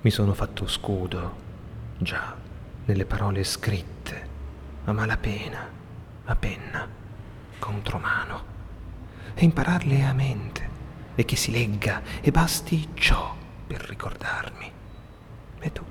Mi sono fatto scudo, già, nelle parole scritte, a malapena, a penna, contro mano, e impararle a mente, e che si legga e basti ciò per ricordarmi. E tu?